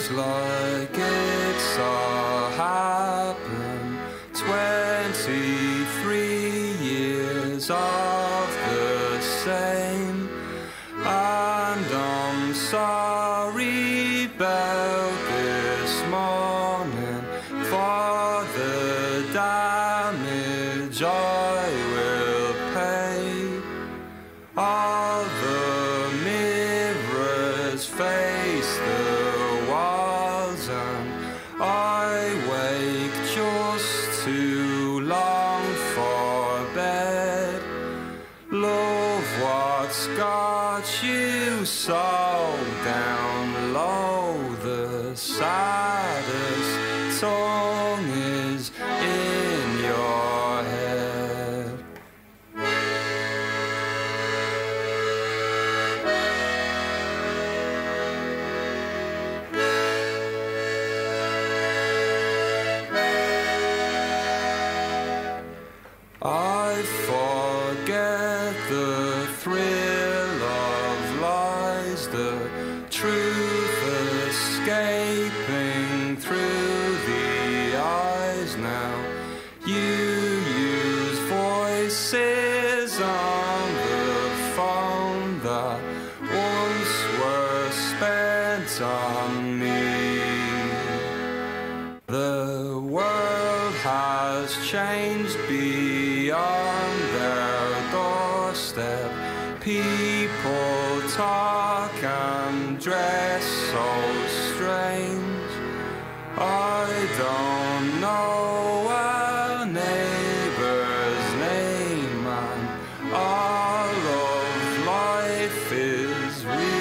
like it saw happen. 23 years of the same, and I'm sorry about this morning for the damage I will pay. All the mirrors face the walls, and I wake just too long for bed. Love, what's got you so down low? The saddest song is in your head. I forget the thrill of lies, the truth escaping through the eyes now. You use voices on the phone that once were spent on me. The world has changed beyond their doorstep. People talk and dress so strange. I don't know a neighbor's name, and all of life is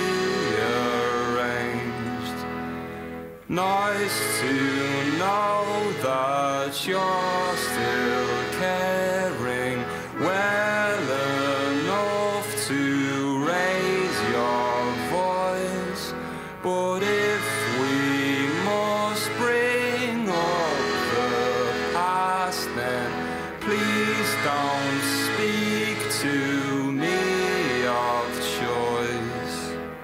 rearranged. Nice to know that you're still caring well enough to raise your voice. But if we must bring up the past, then please don't speak to me of choice.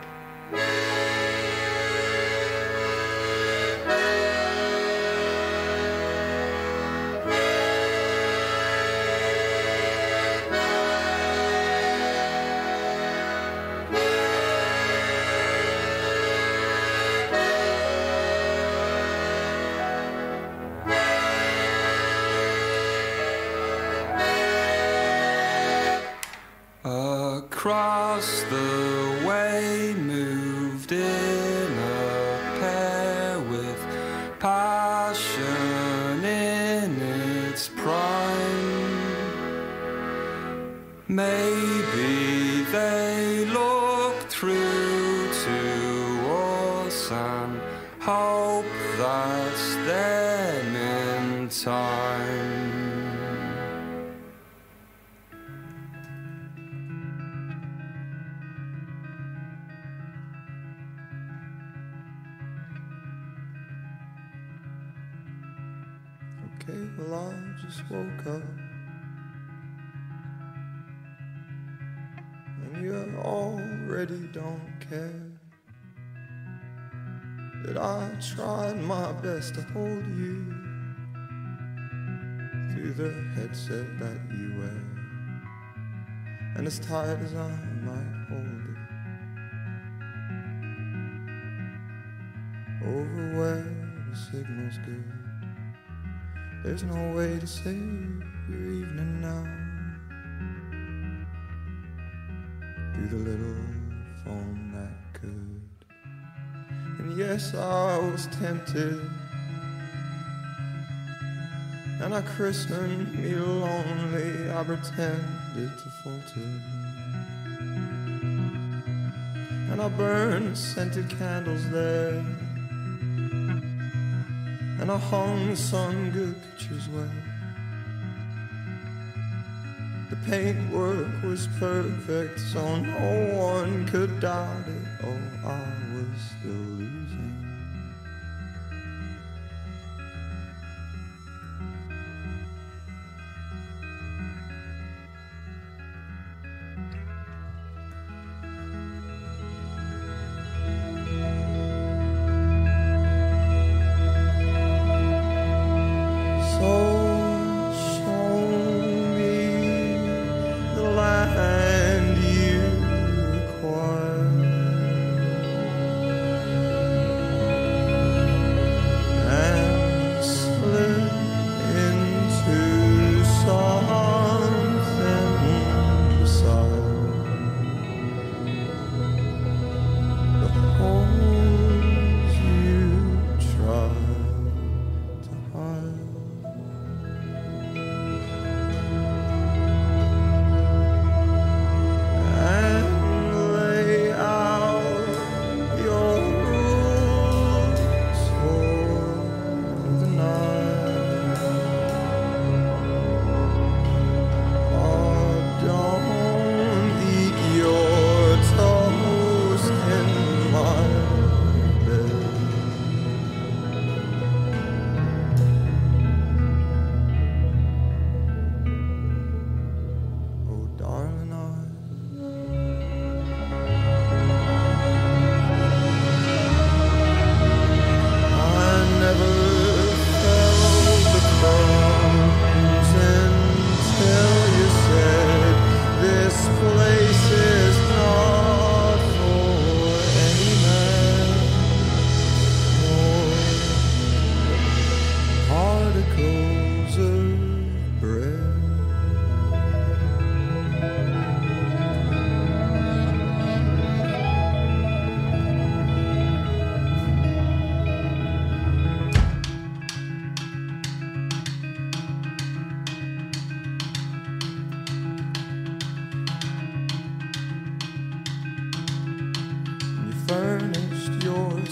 Across the way moved in a pair with passion in its prime. Maybe they look through to us and hope that's them in time. Okay, well, I just woke up and you already don't care that I tried my best to hold you through the headset that you wear, and as tight as I might hold it over where the signal's good. There's no way to save your evening now through the little phone that could. And yes, I was tempted, and I christened me lonely. I pretended to falter, and I burned scented candles there, and I hung some good pictures well. The paintwork was perfect, so no one could doubt it. Oh, I was still losing.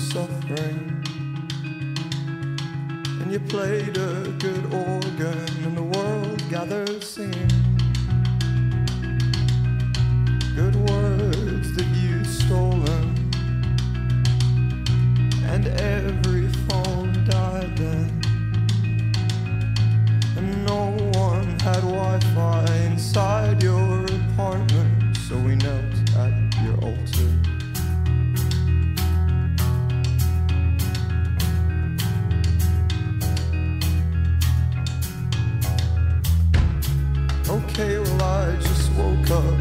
suffering. And you played a good organ and the world gathered singing. Good words that you'd stolen. And every phone died then. And no one had Wi-Fi inside your apartment, so we knelt at your altar. Okay, well I just woke up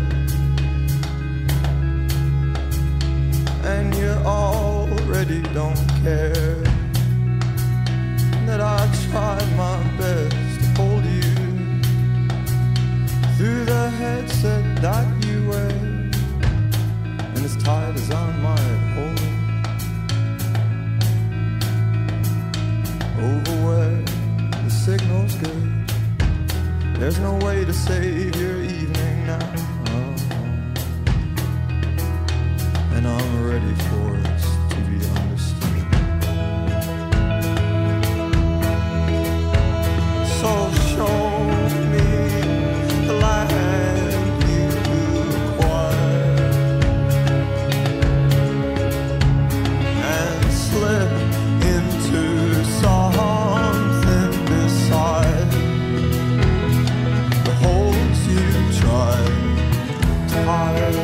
and you already don't care that I tried my best to hold you through the headset that you wear, and as tight as I might hold over where the signal's good. There's no way to save your evening now, and I'm ready for us to be understood. So show me the land you acquired and slip into something beside the holes you tried to hide.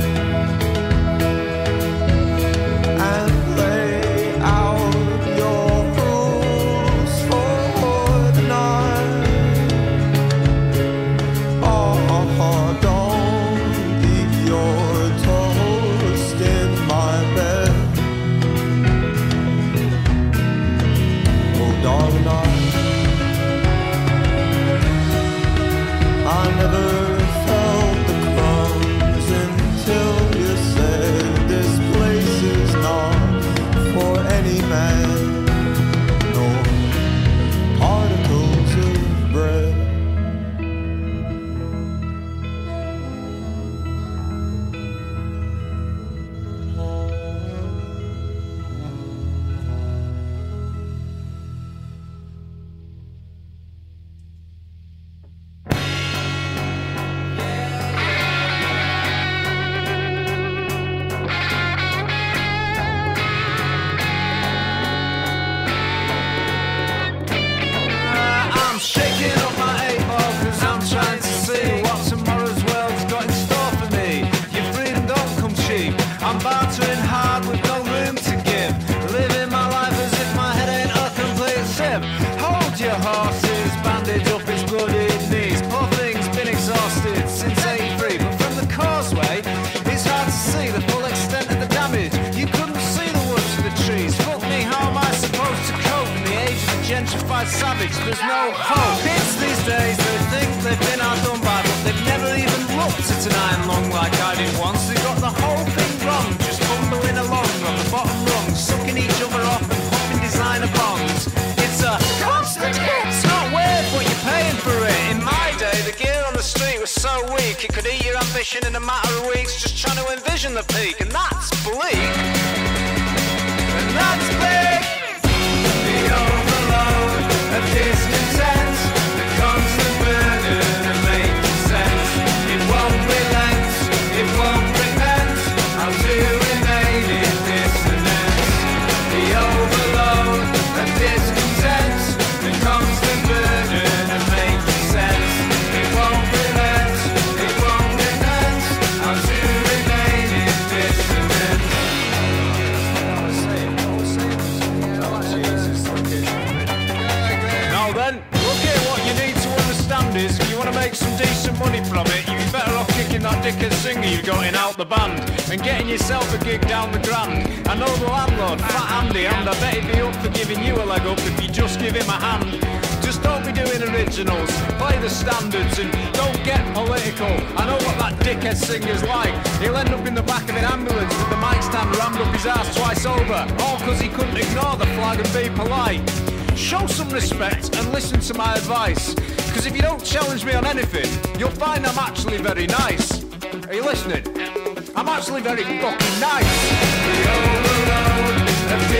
Savage, there's no hope. Kids these days, they think they've been outdone by, but they've never even looked at an iron lung like I did once. They got the whole thing wrong, just bumbling along on the bottom rung, sucking each other off and popping designer bongs. It's a constant hit, it's not worth what you're paying for it. In my day, the gear on the street was so weak, it could eat your ambition in a matter of weeks, just trying to envision the peak, and that's bleak. And that's big. The overload of discontent, the constant burden of making sense. It won't relent, it won't repent, how to remain in dissonance. The overload of discontent, the constant burden of making sense. It won't relent, it won't repent, how to remain in dissonance. Now then, look here, what you need to understand is if you want to make some decent money from it, you'd be better off kicking that dickhead singer you got in out the band and getting yourself a gig down the Grand. I know the landlord, Fat Andy, and I bet he'd be up for giving you a leg up if you just give him a hand. Just don't be doing originals, play the standards and don't get political. I know what that dickhead singer's like. He'll end up in the back of an ambulance with the mic stand rammed up his ass twice over, all because he couldn't ignore the flag and be polite. Show some respect and listen to my advice, because if you don't challenge me on anything, you'll find I'm actually very nice. Are you listening? I'm actually very fucking nice. The overload of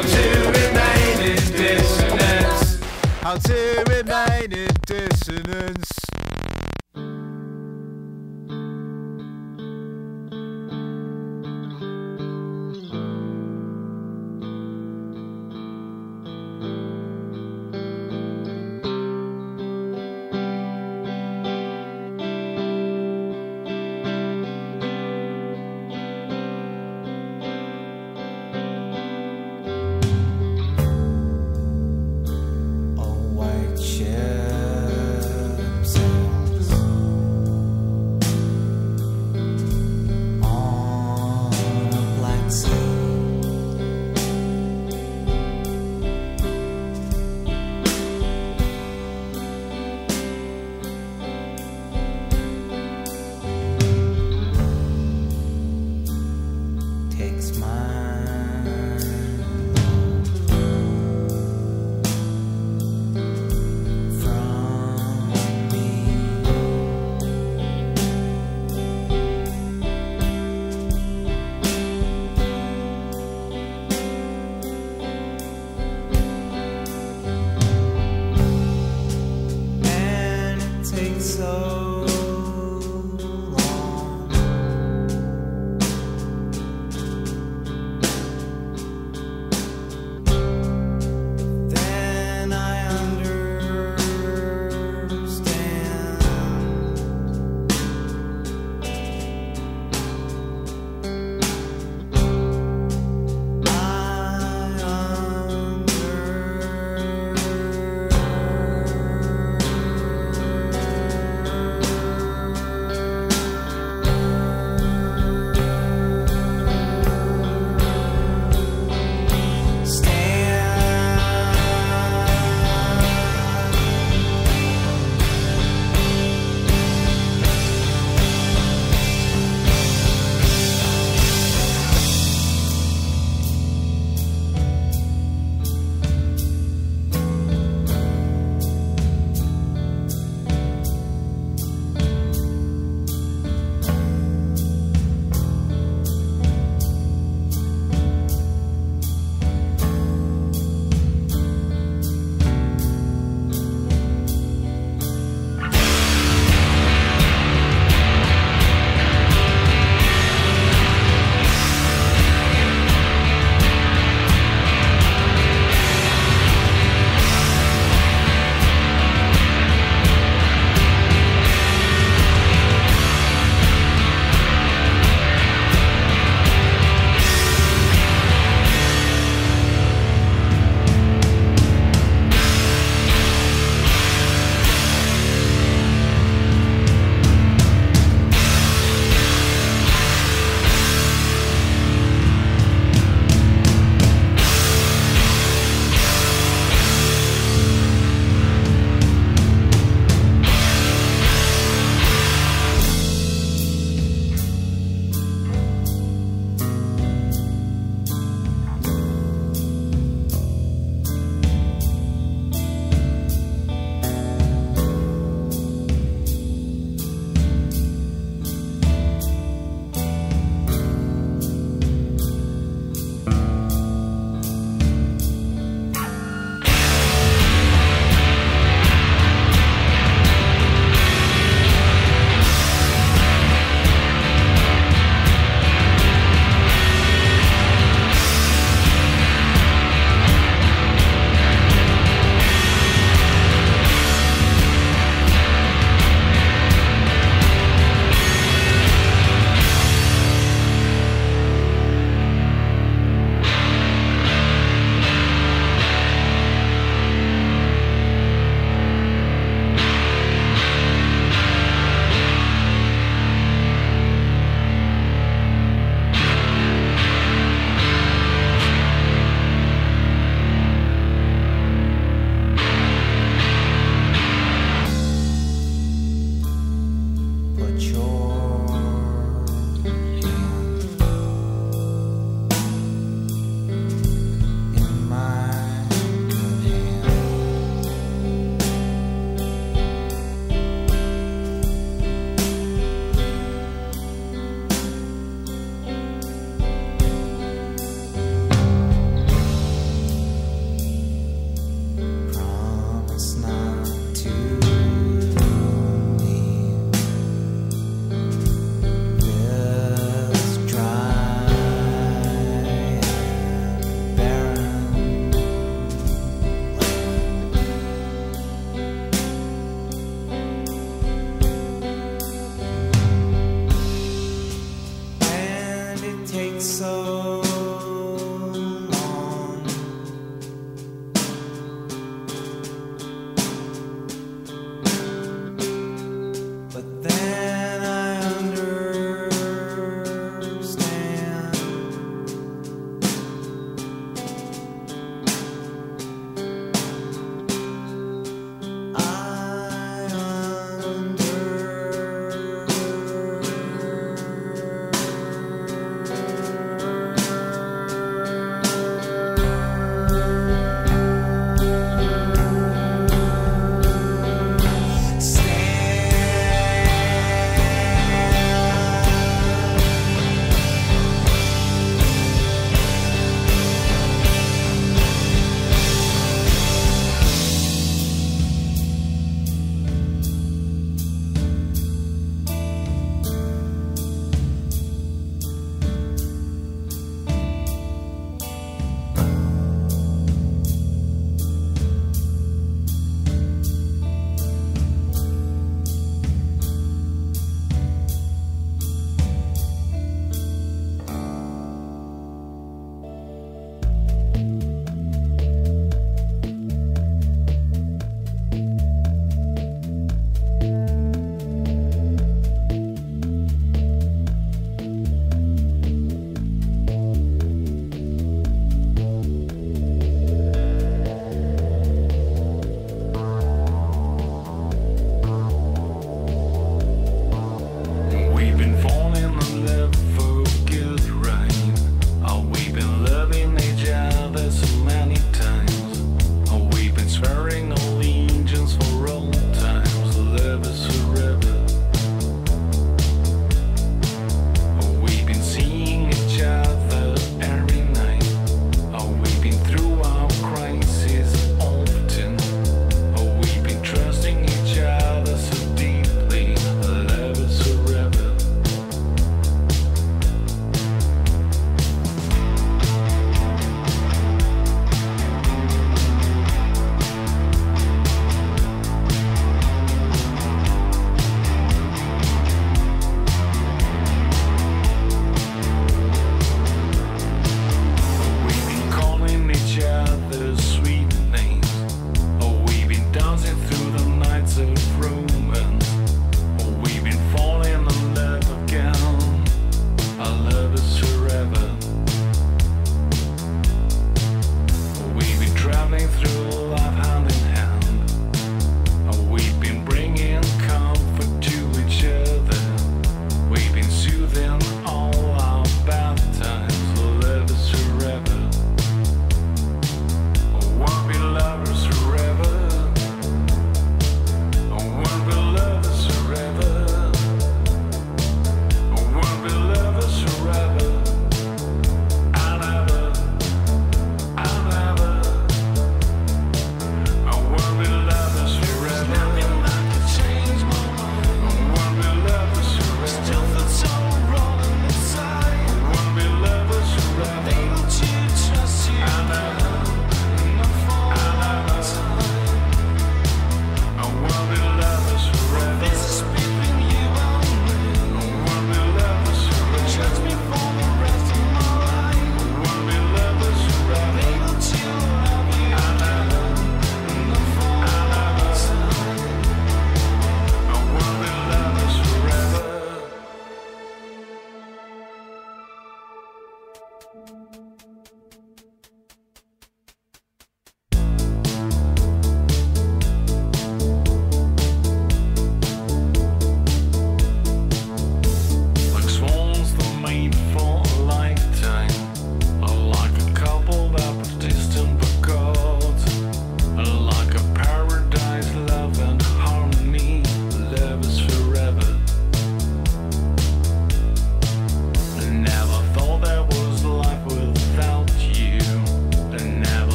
How to remain in dissonance. How to remain in dissonance. White ships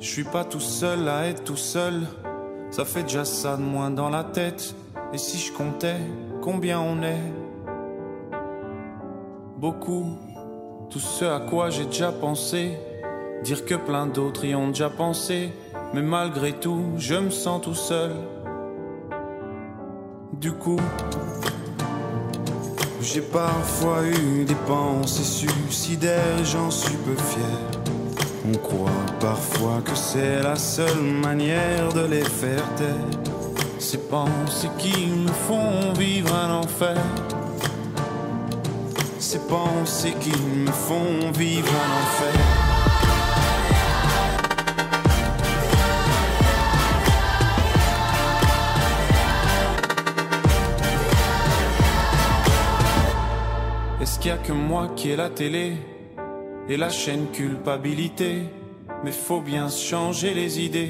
Je suis pas tout seul à être tout seul. Ça fait déjà ça de moins dans la tête. Et si je comptais combien on est? Beaucoup. Tout ce à quoi j'ai déjà pensé. Dire que plein d'autres y ont déjà pensé. Mais malgré tout, je me sens tout seul. Du coup, j'ai parfois eu des pensées suicidaires et j'en suis peu fier. On croit parfois que c'est la seule manière de les faire taire. Ces pensées qui me font vivre un enfer. Ces pensées qui me font vivre un enfer. Est-ce qu'il y a que moi qui ai la télé et la chaîne culpabilité? Mais faut bien se changer les idées.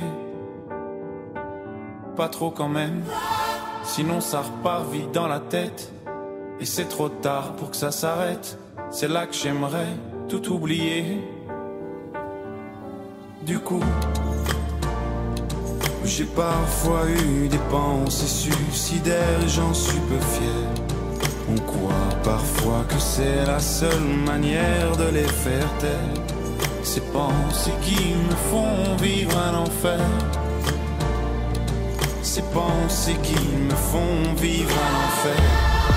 Pas trop quand même, sinon ça repart vite dans la tête. Et c'est trop tard pour que ça s'arrête. C'est là que j'aimerais tout oublier. Du coup, j'ai parfois eu des pensées suicidaires et j'en suis peu fier. On croit parfois que c'est la seule manière de les faire taire. Ces pensées qui me font vivre un enfer. Ces pensées qui me font vivre un enfer.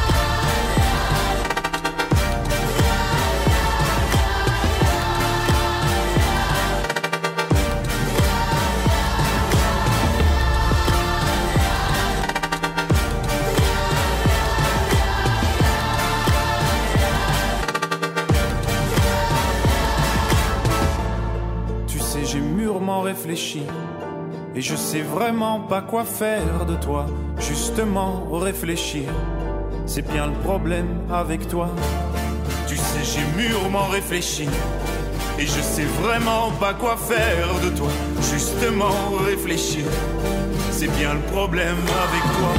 Réfléchir et je sais vraiment pas quoi faire de toi. Justement réfléchir, c'est bien le problème avec toi. Tu sais j'ai mûrement réfléchi et je sais vraiment pas quoi faire de toi. Justement réfléchir, c'est bien le problème avec toi.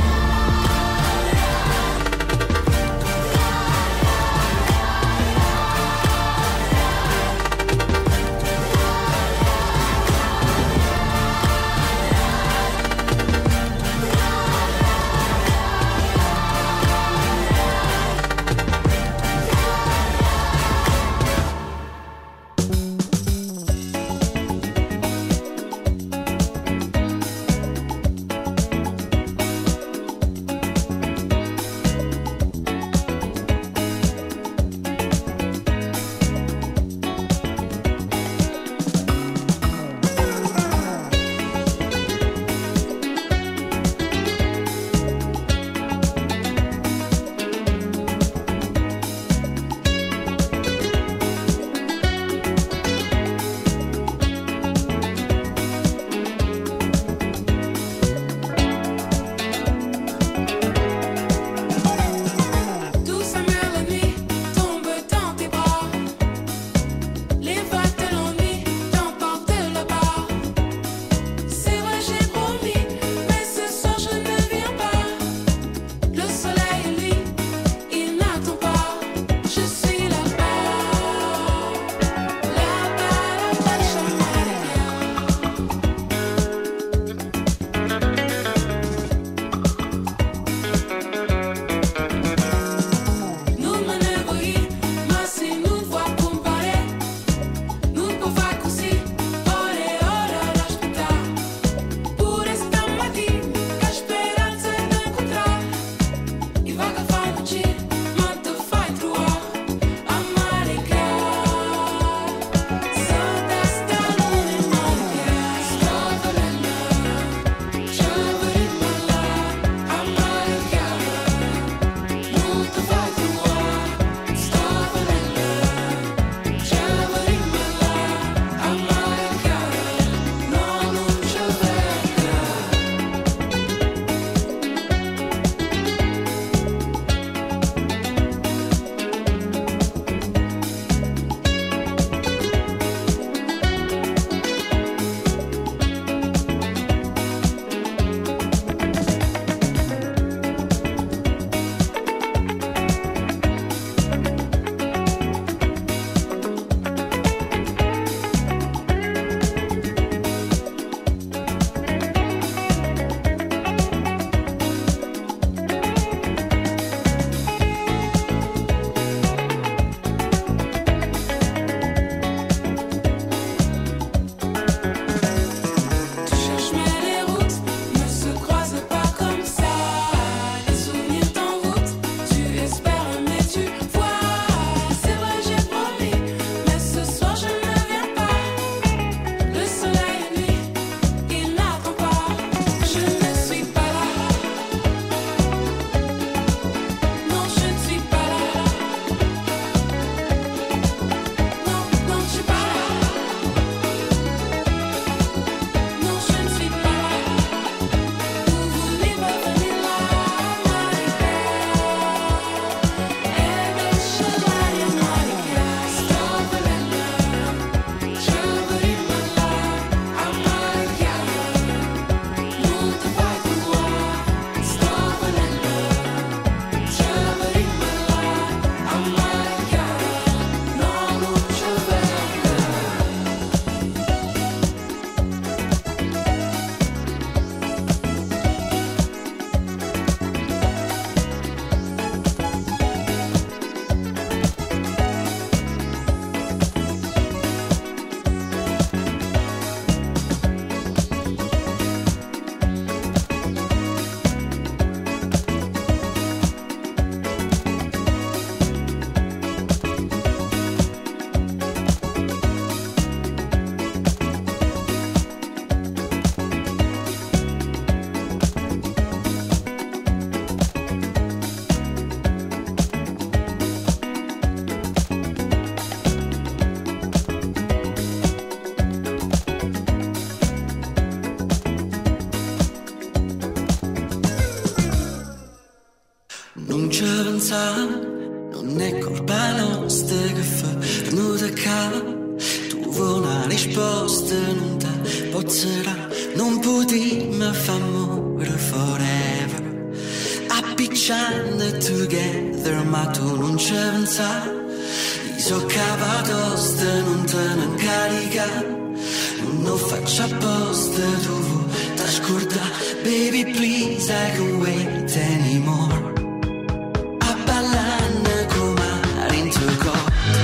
pensare, non è colpa nostra che fa venuta qua. Tu vuoi una risposta, non ti posso dare, non potremmo fare amore forever, appicciando together, ma tu non ci pensare. Io so capatosta, non te ne incaricare, non lo faccio apposta, tu vuoi t'ascoltare. Baby please, I can't wait anymore, a ballare come in tuo corpo.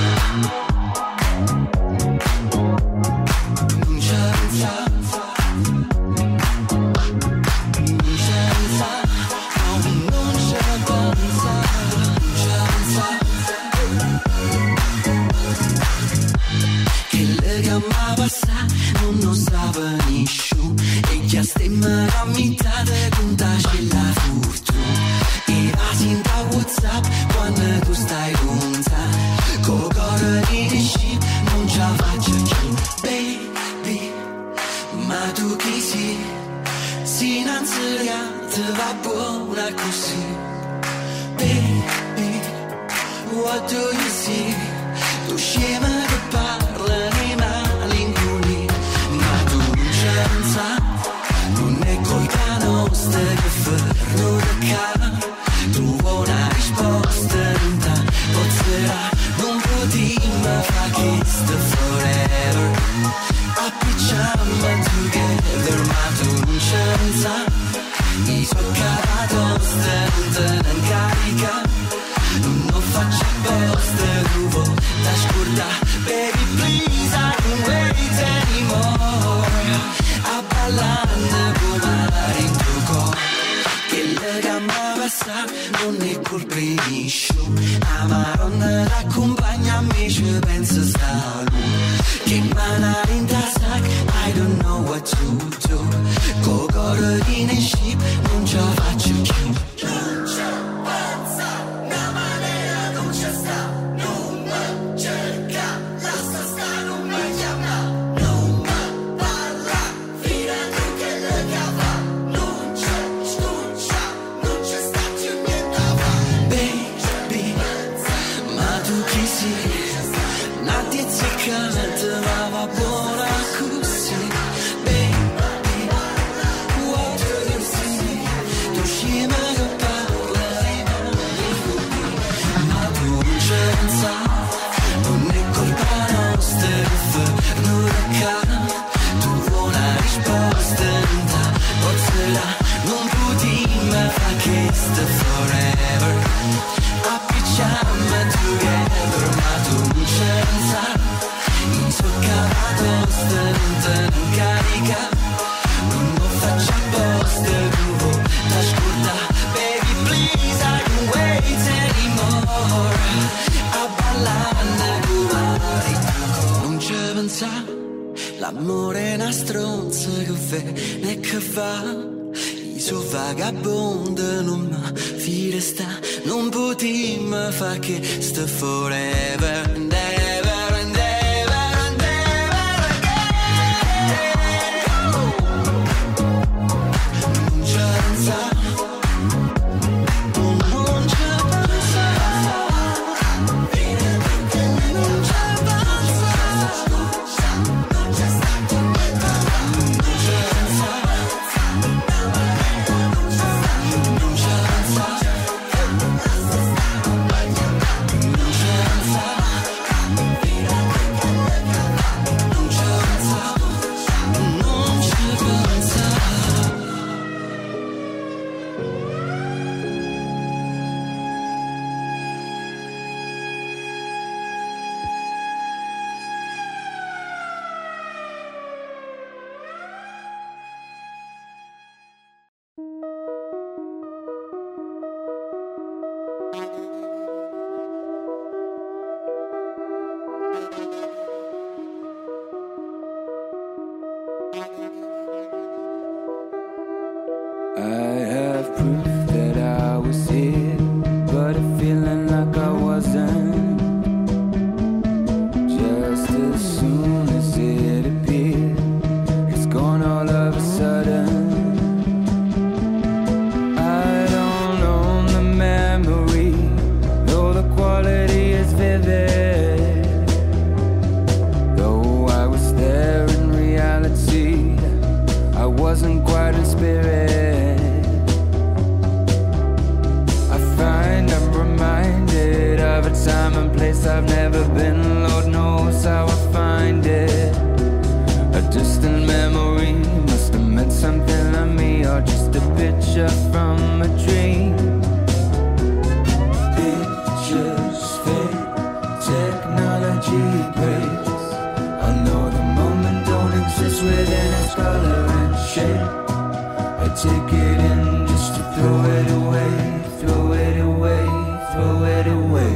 Non ci pensare, non ci pensare, no, non ci pensare, non ci pensare. Che le gamma passa non lo sa nessuno, e che stiamo a metà de contaci la fortuna. E va sinta WhatsApp quando tu stai con te, con cuore di disci non ce la faccio più. Baby, ma tu chi sei? Si innanzitutto va buona così. Baby, what do you see? Tu scema che parla nei malinconi, ma tu non ci pensa, non è colpa nostra che fermo da cara. Tu vuoi una risposta, non ti posso dare, non potremmo fare questo forever, appicciamo together, ma tu non ci pensa. Io so capatosta, non te ne incarica, non lo faccio apposta, tu vuoi t'ascoltare. Baby please, I can't wait anymore, a ballare come in tuo corpo. Che le gamma passa non è colpa di nessuno, la maronna l'accompagna a me, ci pensa sta lui. Che manare in tasca, I don't know what to do, con cuore di nesci non ce la faccio più. Non c'è pensa, una maniera non c'è sta, non mi cerca, lascia sta, non mi chiama, non mi parla, fino a tu che le cava, non c'è scuccia, non c'è sta più niente a fare. Baby, ma tu chi sei? Una tiziccata ma va buona così. Baby, what do you see? Tu scema che parla di me, ma tu non ci pensa, non è colpa nostra che fermo da cara. Tu vuoi una risposta, non ti posso dare, non potremmo fare questo forever, appicciamo together, ma tu non ci pensa. Io so capatosta, non te ne incarica, non lo faccio apposta, tu vuoi t'ascoltare. Baby please, I can't wait anymore, a ballare come non ci pensa. L'amore è una stronza che viene e che va, io so vagabondo, non mi fide sta, non potremmo fare che sta forever and ever and ever and ever again. Non ci pensa, non ci pensa, non ci pensa, non c'è stato niente, non ci pensa, non ci pensa. I have proof that I was here, but a feeling like I wasn't. Just as soon as it appeared, it's gone all of a sudden. I don't own the memory breaks. I know the moment don't exist within its color and shape. I take it in just to throw it away, throw it away, throw it away.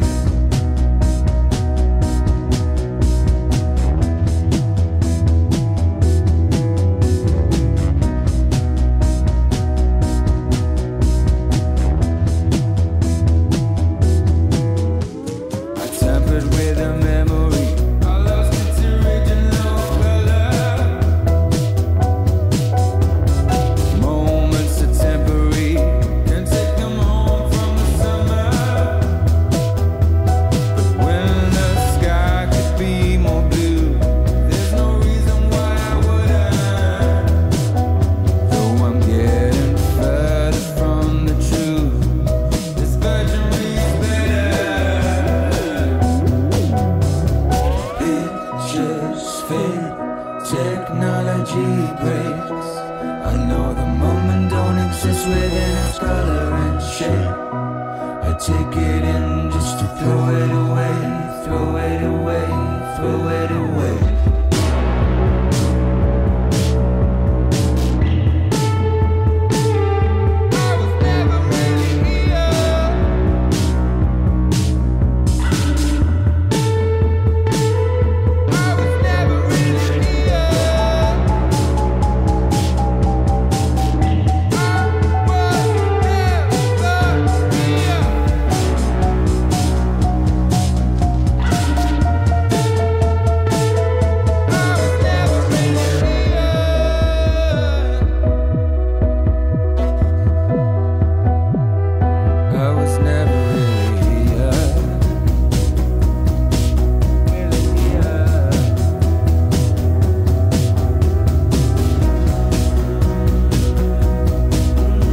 Technology breaks. I know the moment don't exist within its color and shape. I take it in just to throw it away.